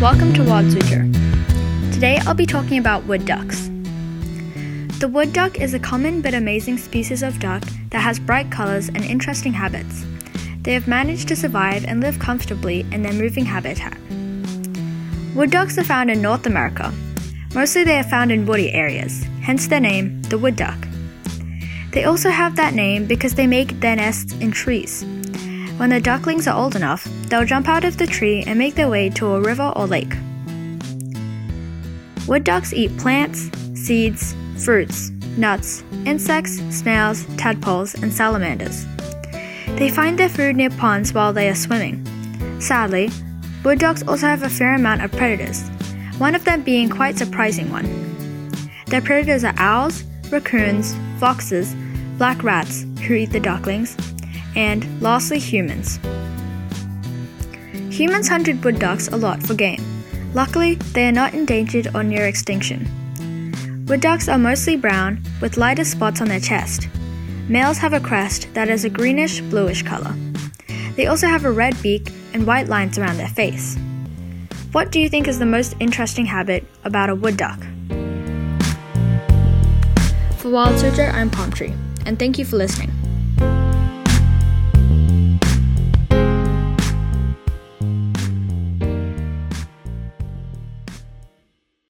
welcome to Wild Suzhou. Today I'll be talking about wood ducks. The wood duck is a common but amazing species of duck that has bright colors and interesting habits. They have managed to survive and live comfortably in their moving habitat. Wood ducks are found in North America. Mostly they are found in woody areas, hence their name, the wood duck. They also have that name because they make their nests in trees. When the ducklings are old enough, they'll jump out of the tree and make their way to a river or lake. Wood ducks eat plants, seeds, fruits, nuts, insects, snails, tadpoles, and salamanders. They find their food near ponds while they are swimming. Sadly, wood ducks also have a fair amount of predators, one of them being quite a surprising one. Their predators are owls, raccoons, foxes, black rats who eat the ducklings, and lastly humans. Humans hunted wood ducks a lot for game. Luckily, they are not endangered or near extinction. Wood ducks are mostly brown with lighter spots on their chest. Males have a crest that is a greenish-bluish color. They also have a red beak and white lines around their face. What do you think is the most interesting habit about a wood duck? For Wild Suzhou, I'm Palm Tree, and thank you for listening.